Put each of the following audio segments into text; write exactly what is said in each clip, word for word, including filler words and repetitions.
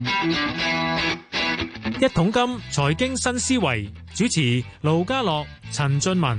一桶金財經新思維主持盧家樂、陳俊文。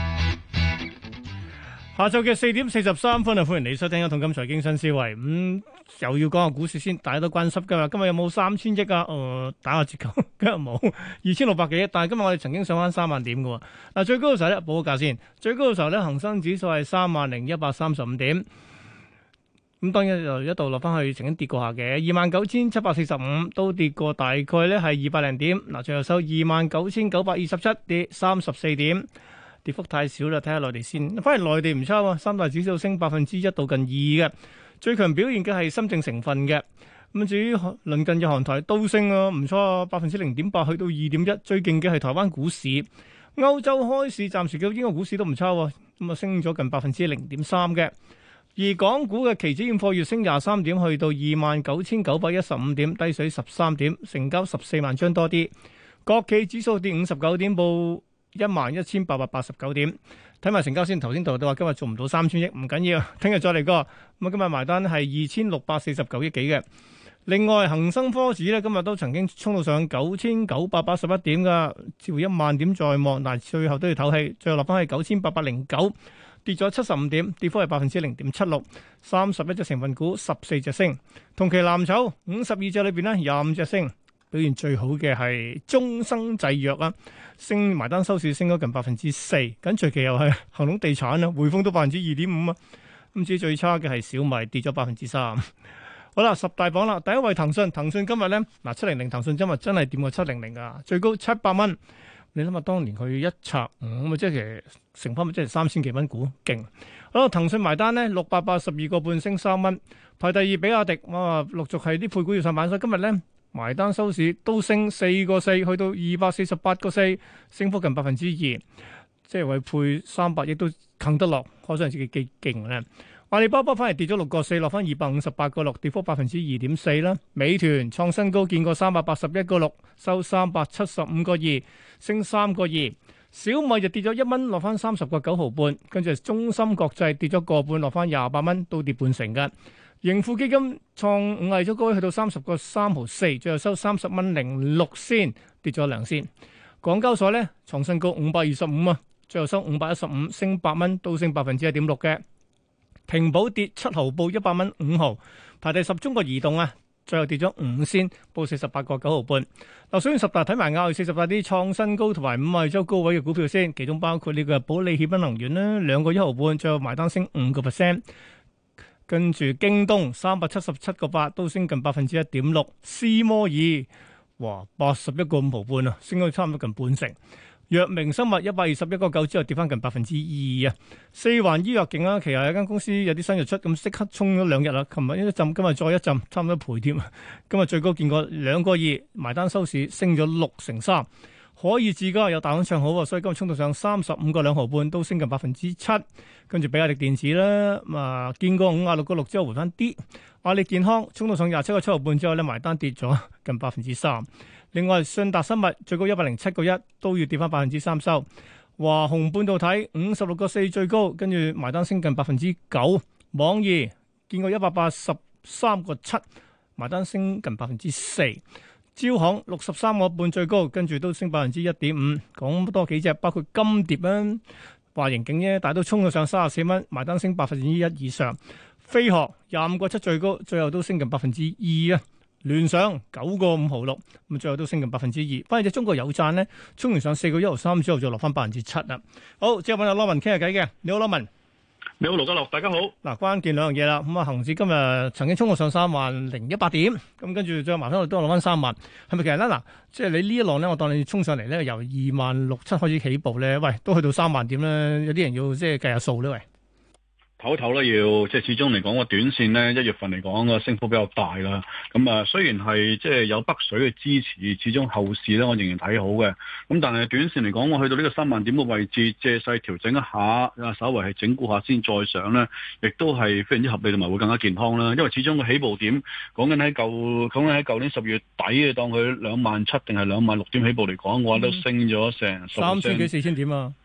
下晝嘅四點四十三分啊，歡迎你收聽一桶金財經新思維。咁、嗯、又要講下股市先，大家都關心噶嘛。今日有冇三千億啊？誒、呃，打下折扣，今日冇二千六百幾億。但係今日我哋曾經上翻三萬點嘅。嗱，最高嘅時候咧，報個價先。最高嘅時候咧，恒生指數係三萬零一百三十五點。咁當然就一度落翻去，曾經跌過下嘅，二萬九千七百四十五都跌過，大概咧係二百零點。嗱，最後收二萬九千九百二十七，跌三十四點。跌幅太少啦，睇下內地先。反而內地唔差喎，三大指數升百分之一到近二嘅。最強表現嘅係深證成分嘅。咁至於鄰近嘅韓台都升啊，唔錯啊，百分之零點八去到二點一。最勁嘅係台灣股市。歐洲開市暫時嘅英國股市都唔差喎，咁啊升咗近百分之零點三嘅。而港股嘅期指現貨月升廿三點，去到二萬九千九百一十五點，低水十三點，成交十四萬張多啲。國企指數跌五十九點，報一萬一千八百八十九點，睇埋成交先。頭先度都話今日做唔到三千億，唔緊要，聽日再嚟過。咁啊，今日埋單係二千六百四十九億幾嘅。另外，恒生科指咧今日都曾經衝到上九千九百八十一點噶，似乎一萬點在望，但係最後都要唞氣，最後落翻去九千八百零九，跌咗七十五點，跌幅係百分之零點七六。三十一隻成分股，十四隻升。同期藍籌五十二隻裏邊咧，廿五隻升。表現最好嘅係中生製藥啊，升埋單收市升咗近百分之四，緊隨其又係恒隆地產啊，匯豐都百分之二點五啊，咁至於最差嘅係小米跌咗百分之三。好啦，十大榜啦，第一位騰訊，騰訊今日咧嗱七零零，騰訊今日真係掂過七零零啊，最高七百蚊。你諗下，當年佢一拆五咁啊，即係其實成翻咪即係三千幾蚊股，勁。好啦，騰訊埋單咧六百八十二個半升三蚊，排第二比亞迪，哇，陸續係啲配股要上板，所以今日咧。埋單收市都升四個四，去到二百四十八個四，升幅近百分之二，即係為配三百億都啃得落，可想自己幾勁咧。阿里巴巴反而跌咗六個四，落翻二百五十八個六，跌幅百分之二點四啦。美團創新高，見過三百八十一個六，收三百七十五個二，升三個二。小米就跌咗一蚊，落翻三十個九毫半，跟住中芯國際跌咗個半，落翻廿八蚊，都跌半成㗎。盈富基金創五日咗高位，去到三十個三毫四，最後收三十蚊零六仙，跌咗兩仙。港交所咧創新高五百二十五啊，最後收五百一十五，升八蚊，都升百分之一點六嘅。平保跌七毫，報一百蚊五毫，排第十。中國移動啊，最後跌咗五仙，報四十八個九毫半。嗱，數完十大睇埋亞四十大啲創新高同埋五日周高位嘅股票先，其中包括呢個保利協鑫能源啦，兩個一毫半，最後埋單升五個 percent。跟住京東三百七十七個八都升近百分之一點六，斯摩爾哇八十一個五毫半啊，升咗差唔多近半成。藥明生物一百二十一個九之後跌翻近百分之二啊。四環醫藥勁啊，其實有間公司有啲新藥出，咁即刻衝咗兩日啦。琴日一浸，今日再一浸，差唔多倍添啊。今日最高見過兩個二，埋單收市升咗六成三。可以自家有大行唱好，所以今日衝到上三十五個兩毫半，都升近百分之七。跟住比亞迪電子啦，咁啊見過五啊六個六之後回翻啲。阿里健康衝到上廿七個七毫半之後咧，埋單跌咗近百分之三。另外信達生物最高一百零七個一，都要跌翻百分之三收。華虹半導體五十六個四最高，跟住埋單升近百分之九。網易見過一百八十三個七，埋單升近百分之四。招行六十三個半最高，跟住都升百分之一點五。講多幾隻，包括金蝶啦，華盈景啫，但係都衝到上三十四蚊，埋單升百分之一以上。飛鶴廿五個七最高，最後都升近百分之二啊。聯想九個五毫六，咁最後都升近百分之二。反而隻中國有贊咧，衝完上四個一毫三之後，再落翻百分之七啦。好，之後揾阿羅文傾下偈嘅，你好，羅文。 你好，盧家樂，大家好。 嗱，關鍵兩樣嘢啦。咁啊，恒指今日曾經衝過上三萬零一百點，咁跟住再麻翻落都落翻三萬，係咪其實咧？嗱，即係你呢一浪咧，我當你衝上嚟咧，由二萬六七開始起步咧，喂，都去到三萬點咧，有啲人要即係計下數咧，喂。 唞一唞啦，要即係始終嚟講個短線咧，一月份嚟講個升幅比較大啦。咁啊，雖然係即係有北水嘅支持，始終後市咧我仍然睇好嘅。咁但係短線嚟講，我去到呢個三萬點嘅位置，借勢調整一下，啊稍微係整固下先再上咧，亦都係非常之合理同埋會更加健康啦。因為始終個起步點講緊喺舊講緊喺舊年十月底嘅，當佢兩萬七定係兩萬六點起步嚟講，嘅話都升咗成三千幾四千點啊！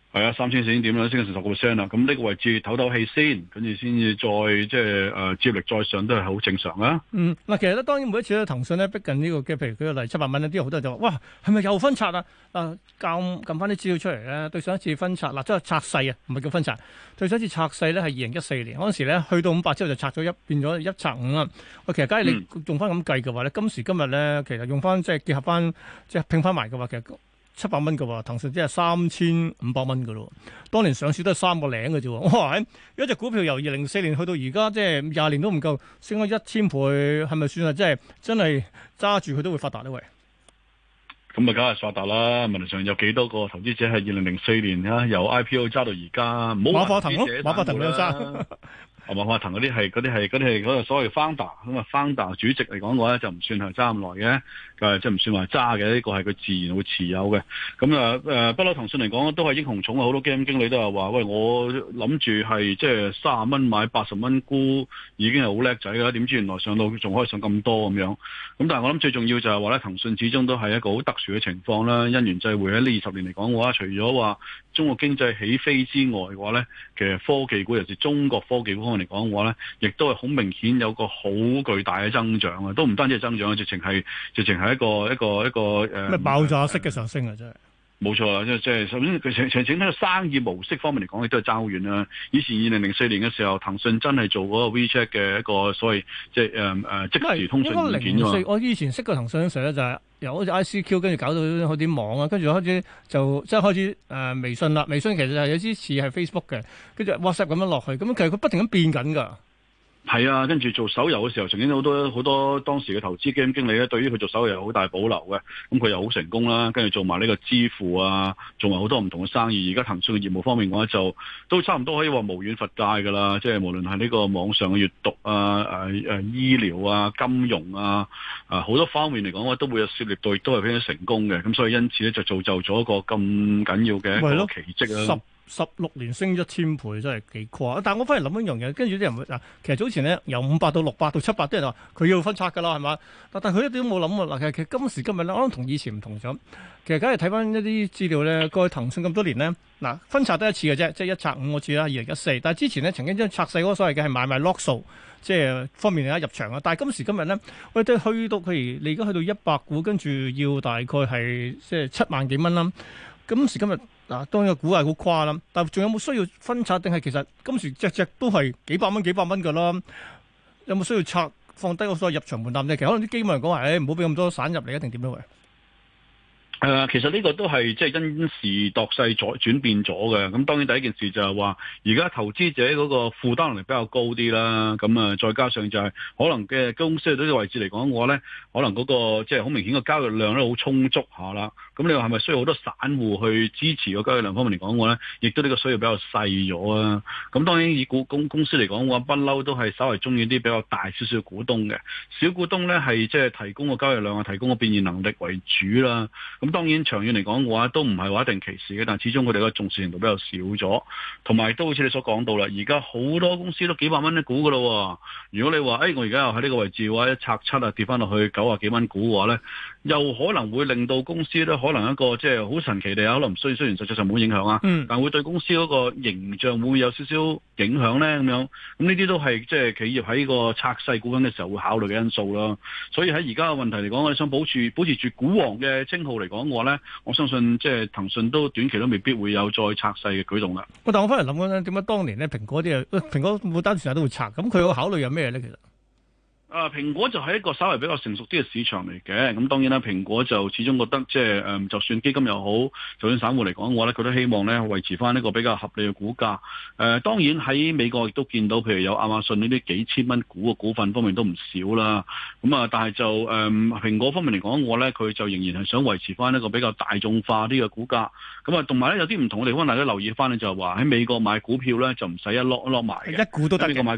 係啊，三千四千點啦，升咗成十個 percent 啦。咁呢個位置唞唞氣先，跟住先至再即係誒接力再上，都係好正常啊。 嗯，嗱，其實咧，當然每一次咧，騰訊咧逼近呢、這個嘅，譬如舉個例七百蚊呢啲好多人就話：哇，係咪又分拆啊？嗱，撳撳翻啲資料出嚟咧，對上一次分拆嗱，即係拆細啊，唔係叫分拆。對上一次拆細咧係二零一四年嗰陣時咧，去到五百之後就拆咗一變咗一拆五啊。喂，其實假如你用翻咁計嘅話咧，今時今日咧，其實用翻即係結合翻即係拼翻埋嘅話，其實。七百蚊嘅話，騰訊即係三千五百蚊嘅咯。當年上市都係三個零嘅啫。哇！一隻股票由二零零四年去到而家，即係廿年都唔夠，升咗一千倍，係咪算係即係真係揸住佢都會發達呢？喂， 咁啊，梗係發達啦！問題上有幾多個投資者係二零零四年啊由 I P O 揸到而家？唔好話投資者， 馬化騰都有揸。 啊，馬化騰嗰啲係嗰啲係嗰啲係嗰個所謂 founder 咁啊，founder 主席嚟講嘅話咧就唔算係揸咁耐嘅，誒即係唔算話揸嘅，呢個係佢自然會持有嘅。咁啊誒，不嬲騰訊嚟講都係英雄重啊，好多基金經理都係話：喂，我諗住係即係三十蚊買八十蚊沽，已經係好叻仔㗎啦。點知原來上到仲可以上咁多咁樣。咁但係我諗最重要就係話咧，騰訊始終都係一個好特殊嘅情況啦。因緣際會喺呢二十年嚟講嘅話，除咗話中國經濟起飛之外嘅話咧，其實科技股尤其是中國科技股方面嚟講嘅話咧，亦都係好明顯有個好巨大嘅增長啊！都唔單止係增長啊，直情係直情係一個一個一個誒咩爆炸式嘅上升啊！真係冇錯啦，即係即係首先佢成成整體嘅生意模式方面嚟講，亦都係爭好遠啦。以前二零零四年嘅時候，騰訊真係做嗰個 WeChat 嘅一個所謂即係誒誒即時通訊軟件啊嘛。 我以前識個騰訊嘅時候咧，就係由好似 I C Q 跟住搞到開啲網啊，跟住開始就即係開始誒、呃、微信啦。微信其實係有啲似係 Facebook 嘅，跟住 WhatsApp 咁樣落去，咁其實佢不停咁變緊㗎。 係啊，跟住做手遊嘅時候，曾經好多好多當時嘅投資基金經理咧，對於佢做手遊有好大保留嘅。咁佢又好成功啦，跟住做埋呢個支付啊，做埋好多唔同嘅生意。而家騰訊嘅業務方面嘅話，就都差唔多可以話無遠弗屆㗎啦。即係無論係呢個網上嘅閱讀啊、誒誒醫療啊、金融啊、啊好多方面嚟講，都會有涉獵到，亦都係非常成功嘅。咁所以因此咧，就造就咗一個咁緊要嘅一個奇蹟啊！ 十六年升一千倍真係幾誇！但係我翻嚟諗一樣嘢，跟住啲人會嗱，其實早前咧由五百到六百到七百，啲人話佢要分拆㗎啦，係嘛？但但佢一啲都冇諗喎。嗱，其實其實今時今日咧，我諗同以前唔同咗。其實梗係睇翻一啲資料咧，過去騰訊咁多年咧，嗱分拆得一次嘅啫，即係一拆五嗰次啦，二零一四。但係之前咧曾經將拆細嗰個所謂嘅係買賣 lock 數，即係方便大家入場啊。但係今時今日咧，我哋去到譬如你而家去到一百股，跟住要大概係即係七萬幾蚊啦。今時今日嗱，當然個股係好誇啦，但係仲有冇需要分拆？定係其實今時隻隻都係幾百蚊、幾百蚊㗎啦？有冇需要拆放低個所謂入場門檻咧？其實可能啲基金人講話，誒唔好俾咁多散入嚟，一定點樣嘅？ 誒、呃，其實呢個都係即係因時度勢咗轉變咗嘅。咁當然第一件事就係話，而家投資者嗰個負擔能力比較高啲啦。咁啊，再加上就係可能嘅公司喺呢個位置嚟講嘅話咧，可能嗰、那個即係好明顯嘅交易量咧好充足下啦。咁你話係咪需要好多散戶去支持個交易量方面嚟講嘅話咧，亦都呢個需要比較細咗啊。咁當然以股公公司嚟講嘅話，不嬲都係稍為中意啲比較大少少股東嘅，小股東咧係即係提供個交易量啊，提供個變現能力為主啦。咁當然長遠嚟講嘅話，都唔係話一定歧視嘅，但係始終佢哋嘅重視程度比較少咗，同埋都好似你所講到啦，而家好多公司都幾百蚊一股噶咯。如果你話誒、哎，我而家又喺呢個位置嘅話，一拆七啊跌翻落去九啊幾蚊股嘅話咧，又可能會令到公司咧可能一個即係好神奇地可能雖雖然實際上冇影響啊，嗯、但會對公司嗰個形象會唔會有少少影響咧咁樣。咁呢啲都係即係企業喺個拆細股份嘅時候會考慮嘅因素啦。所以喺而家嘅問題嚟講，我哋想保持保持住股王嘅稱號嚟講嘅話咧，我相信即係騰訊都短期都未必會有再拆細嘅舉動啦。 但我翻嚟諗緊咧，點解當年咧蘋果啲啊，蘋果冇單時都會拆，咁佢個考慮有咩咧？其實？ 啊，蘋果就係一個稍微比較成熟啲嘅市場嚟嘅，咁當然啦，蘋果就始終覺得即係誒，就算基金又好，就算散戶嚟講嘅話咧，佢都希望咧維持翻呢個比較合理嘅股價。誒、呃，當然喺美國亦都見到，譬如有亞馬遜呢啲幾千蚊股嘅股份方面都唔少啦。咁啊，但係就誒、呃、蘋果方面嚟講嘅話咧，佢就仍然係想維持翻一個比較大眾化啲嘅股價。咁啊，同埋咧有啲唔同嘅地方，大家留意翻咧，就係話喺美國買股票咧就唔使一攞一攞埋嘅， 一股都得嘅。 美國買股票。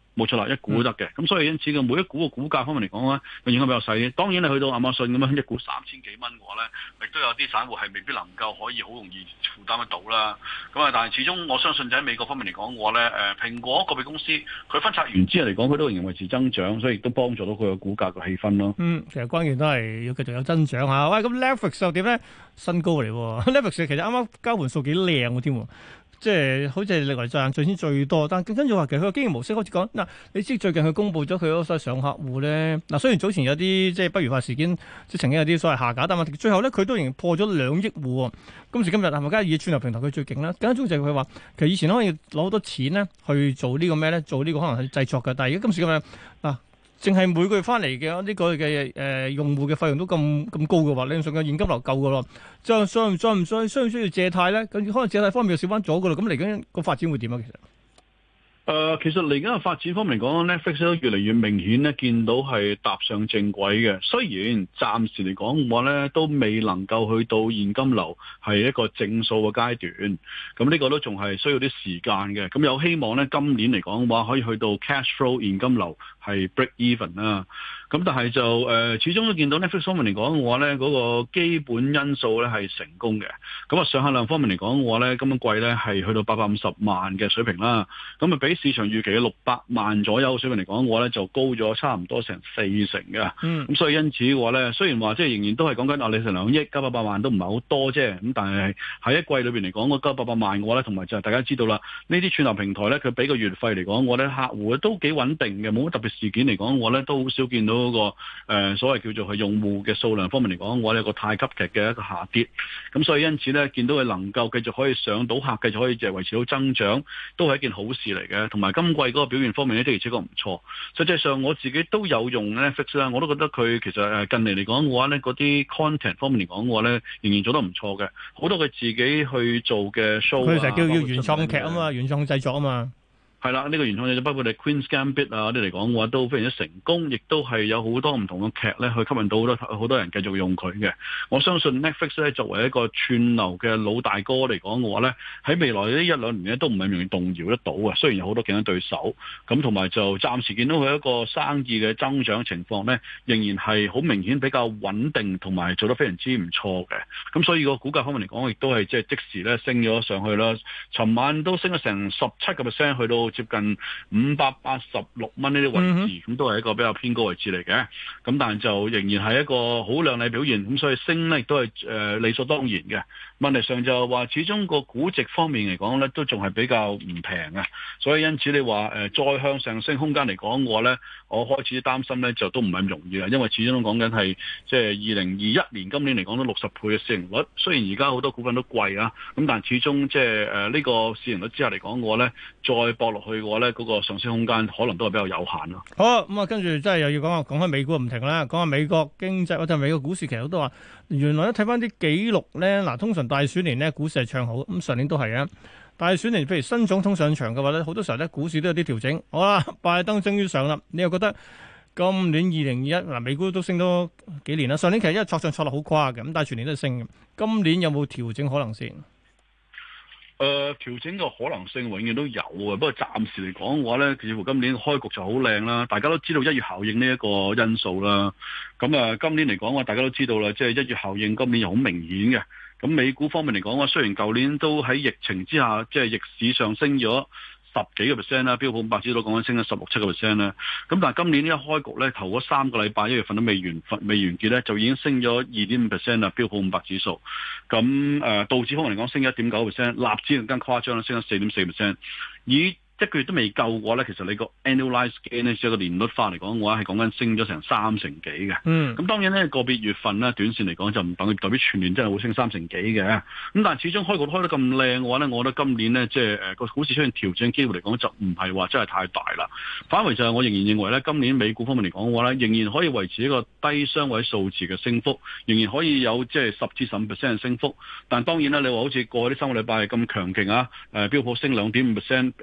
冇錯啦，一股都得嘅。咁、嗯、所以因此嘅每一股嘅股價方面嚟講咧，個影響比較細啲。當然你去到亞馬遜咁樣一股三千幾蚊嘅話咧，亦都有啲散戶係未必能夠可以好容易負擔得到啦。咁啊，但係始終我相信就喺美國方面嚟講嘅話咧，誒蘋果個別公司佢分拆完之後嚟講，佢都仍然維持增長，所以亦都幫助到佢嘅股價嘅氣氛咯。 嗯，其實關鍵都係要繼續有增長嚇。喂，咁 Netflix 又點咧？新高嚟喎 ，Netflix 其實啱啱交換數幾靚嘅添喎。即係好似係歷來賺最先最多，但跟住話其實佢個經營模式開始講嗱，你知最近佢公布咗佢嗰個上客戶咧，嗱雖然早前有啲即係不如話事件，即係曾經有啲所謂下架，但係最後咧佢都仍然破咗兩億戶喎。今時今日係咪梗係以串流平台佢最勁啦？更加重要就係佢話其實以前可以攞好多錢咧去做呢個咩咧，做呢個可能係製作嘅，但係而家今時今日嗱。淨係每個月翻嚟嘅呢個嘅誒、呃、用戶嘅費用都咁咁高嘅話，理論上嘅現金流夠嘅咯，再再唔再唔再需唔需要借貸咧？咁可能借貸方面又少翻咗嘅咯。咁嚟緊個發展會點啊？其實？ 誒、呃，其實嚟緊嘅發展方面嚟講 Netflix 都越嚟越明顯咧，見到係踏上正軌嘅。雖然暫時嚟講嘅話咧，都未能夠去到現金流係一個正數嘅階段，咁呢個都仲係需要啲時間嘅。咁有希望咧，今年嚟講嘅話，可以去到 cash flow 現金流係 break even 啦。咁但係就誒、呃，始終都見到 Netflix 方面嚟講嘅話咧，嗰、那個基本因素咧係成功嘅。咁啊，上客量方面嚟講嘅話咧，今個季咧係去到八百五十萬嘅水平啦。咁啊，比市場預期嘅六百萬左右水平嚟講嘅話咧，就高咗差唔多成四成嘅。嗯。咁所以因此嘅話咧，雖然話即係仍然都係講緊啊，你成兩億九百八萬都唔係好多啫。咁但係喺一季裏邊嚟講，嗰九百八萬嘅話咧，同埋就係大家知道啦，呢啲串流平台咧，佢俾個月費嚟講，我咧客戶都幾穩定嘅，冇乜特別事件嚟講，我咧都好少見到嗰、那個誒、呃、所謂叫做係用戶嘅數量方面嚟講，我哋有個太急劇嘅一個下跌。咁所以因此咧，見到佢能夠繼續可以上到客，繼續可以就係維持到增長，都係一件好事嚟嘅。同埋今季嗰個表現方面咧，的而且確唔錯。實際上我自己都有用 Netflix 啦，我都覺得佢其實誒近嚟嚟講嘅話咧，嗰啲 content 方面嚟講嘅話咧，仍然做得唔錯嘅。好多佢自己去做嘅 show， 佢成日叫叫原創劇啊嘛，原創製作啊嘛。 係啦，呢、這個原創嘢包括你 Queen's Gambit 啊嗰啲嚟講嘅話，都非常之成功，亦都係有好多唔同嘅劇咧，去吸引到好多好多人繼續用佢嘅。我相信 Netflix 咧作為一個串流嘅老大哥嚟講嘅話咧，喺未來呢一兩年咧都唔係容易動搖得到嘅。雖然有好多競爭對手，咁同埋就暫時見到佢一個生意嘅增長情況咧，仍然係好明顯比較穩定，同埋做得非常之唔錯嘅。咁所以個股價方面嚟講，亦都係即係即時咧升咗上去啦。尋晚都升咗成十七個 percent 去到接近五百八十六蚊呢啲位置，咁、嗯、都係一個比較偏高位置嚟嘅。咁但係就仍然係一個好亮麗表現，咁所以升呢亦都係誒、呃、理所當然嘅。問題上就係話，始終個估值方面嚟講咧，都仲係比較唔平啊。所以因此你話誒、呃、再向上升空間嚟講嘅話咧，我開始擔心咧就都唔係咁容易啦。因為始終都講緊係即係二零二一年今年嚟講都六十倍嘅市盈率，雖然而家好多股份都貴啊，咁但係始終即係誒呢個市盈率之下嚟講嘅話咧，再搏落去嘅話咧，嗰、那個上升空間可能都係比較有限咯。 好咁啊，跟住即係又要講下講開美股唔停啦，講下美國經濟或者美國股市，其實都話原來咧睇翻啲記錄咧，嗱通常大選年咧股市係唱好，咁上年都係啊。大選年譬如新總統上場嘅話咧，好多時候咧股市都有啲調整。好啦，拜登終於上啦，你又覺得今年二零二一嗱美股都升咗幾年啦？上年其實因為挫上挫落好誇嘅，咁但係全年都係升嘅。今年有冇調整可能先？ 誒、呃、調整嘅可能性永遠都有嘅，不過暫時嚟講嘅話咧，似乎今年開局就好靚啦。大家都知道一月效應呢一個因素啦。咁啊，今年嚟講嘅話，大家都知道啦，即係一月效應今年又好明顯嘅。咁美股方面嚟講嘅話，雖然舊年都喺疫情之下，即係逆市上升咗十幾個 percent 啦，標普五百指數講緊升咗十六七個 percent 啦。咁但係今年一開局咧，頭嗰三個禮拜一月份都未完未完結咧，就已經升咗二點五 percent 啦，標普五百指數。咁誒、呃、道指方面嚟講升一點九 percent，納指更加誇張啦，升咗四點四 percent。以一個月都未夠嘅話咧，其實你個 annualized gain 咧，即係個年率化嚟講嘅話，係講緊升咗成三成幾嘅。嗯。咁當然咧，個別月份咧，短線嚟講就唔等於代表全年真係會升三成幾嘅。咁但係始終開局開得咁靚嘅話咧，我覺得今年咧，即係誒個股市出現調整機會嚟講，就唔係話真係太大啦。反為就係我仍然認為咧，今年美股方面嚟講嘅話咧，仍然可以維持一個低雙位數字嘅升幅，仍然可以有即係十至十五 percent 嘅升幅。但係當然啦，你話好似過去啲三個禮拜咁強勁啊，誒標普升兩點五 percent，誒納指升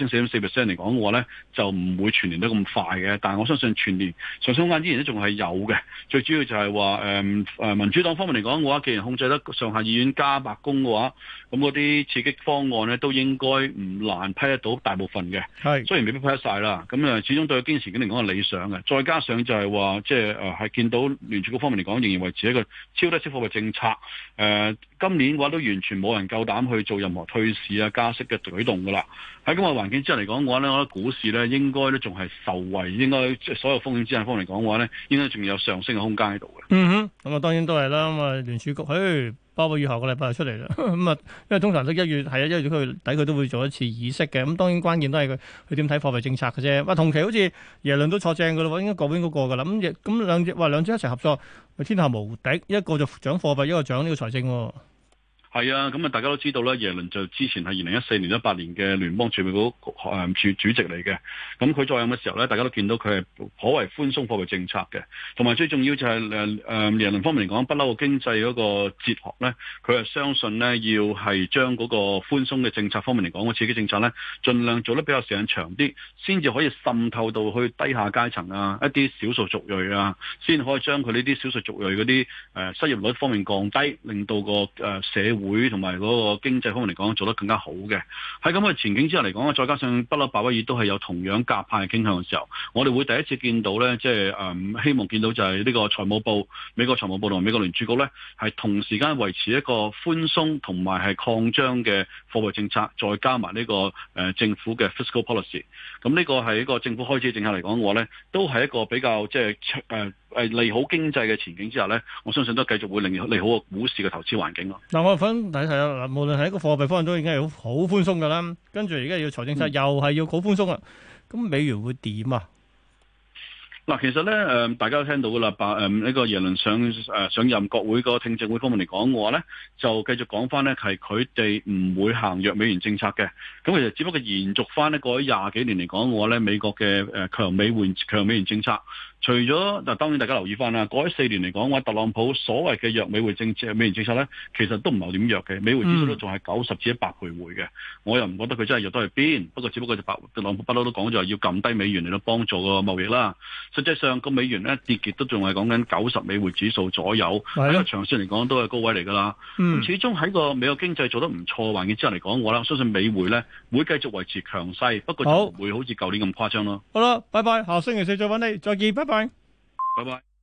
升四點四 percent 嚟講嘅話咧，就唔會全年都咁快嘅。但係我相信全年上升空間依然都仲係有嘅。最主要就係話誒誒民主黨方面嚟講嘅話，既然控制得上下議院加白宮嘅話，咁嗰啲刺激方案咧都應該唔難批得到大部分嘅。係雖然未必批得晒啦，咁誒始終對經濟前景嚟講係理想嘅。再加上就係話即係誒係見到聯儲局方面嚟講，仍然維持一個超低息貨幣政策。誒、呃、今年嘅話都完全冇人夠膽去做任何退市啊加息嘅舉動㗎啦。喺咁嘅環境之下嚟講嘅話咧，我覺得股市咧應該都仲係受惠，應該即係所有風險資產方面嚟講嘅話咧，應該仲有上升嘅空間喺度嘅。 嗯哼，咁啊當然都係啦。咁啊聯儲局，誒鮑威爾下個禮拜就出嚟啦。咁啊，因為通常都一月係啊，一月佢底佢都會做一次議息嘅。咁當然關鍵都係佢佢點睇貨幣政策嘅啫。哇，同期好似耶倫都坐正㗎啦喎，應該嗰邊嗰個㗎啦。咁亦咁兩隻話兩隻一齊合作，天下無敵。一個就掌貨幣，一個掌呢個財政喎。 係啊，咁啊，大家都知道咧，耶倫就之前係二零一四年、一八年嘅聯邦儲備局誒主主席嚟嘅。咁佢在任嘅時候咧，大家都見到佢係頗為寬鬆貨幣政策嘅。同埋最重要就係誒誒耶倫方面嚟講，不嬲個經濟嗰個哲學咧，佢係相信咧要係將嗰個寬鬆嘅政策方面嚟講，個刺激政策咧，盡量做得比較時間長啲，先至可以滲透到去低下階層啊，一啲少數族裔啊，先可以將佢呢啲少數族裔嗰啲誒失業率方面降低，令到個誒社會會同埋嗰個經濟方面嚟講做得更加好嘅。喺咁嘅前景之下嚟講，再加上不嬲鮑威爾都係有同樣鴿派嘅傾向嘅時候，我哋會第一次見到咧，即係誒希望見到就係呢個財務部、美國財務部同埋美國聯儲局咧，係同時間維持一個寬鬆同埋係擴張嘅貨幣政策，再加埋呢個誒政府嘅 fiscal policy。咁呢個係一個政府開支政策嚟講嘅話咧，都係一個比較即係誒誒利好經濟嘅前景之下咧，我相信都繼續會令利好個股市嘅投資環境咯。 嗱，我想睇睇啦，嗱，無論係一個貨幣方面都已經係好好寬鬆噶啦，跟住而家要財政策又係要好寬鬆啊，咁、嗯、美元會點啊？ 嗱，其實咧，誒，大家都聽到噶啦，把誒呢個耶倫上誒上任國會個聽證會方面嚟講嘅話咧，就繼續講翻咧，係佢哋唔會行弱美元政策嘅。咁其實只不過延續翻呢過去廿幾年嚟講嘅話咧，美國嘅誒強美元強美元政策。除咗嗱，當然大家留意翻啦，過去四年嚟講，話特朗普所謂嘅弱美匯政策、美元政策咧，其實都唔係點弱嘅，美匯指數都仲係九十至一百徘徊嘅。我又唔覺得佢真係弱得去邊，不過只不過就白特朗普不嬲都講咗係要撳低美元嚟到幫助個貿易啦。實際上個美元咧跌極都仲係講緊九十美匯指數左右，喺個長線嚟講都係高位嚟㗎啦。咁、嗯、始終喺個美國經濟做得唔錯嘅環境之下嚟講，我咧相信美匯咧會繼續維持強勢，不過就唔會好似舊年咁誇張咯。 好啦，拜拜，下星期四再揾你，再見，拜拜。 拜拜。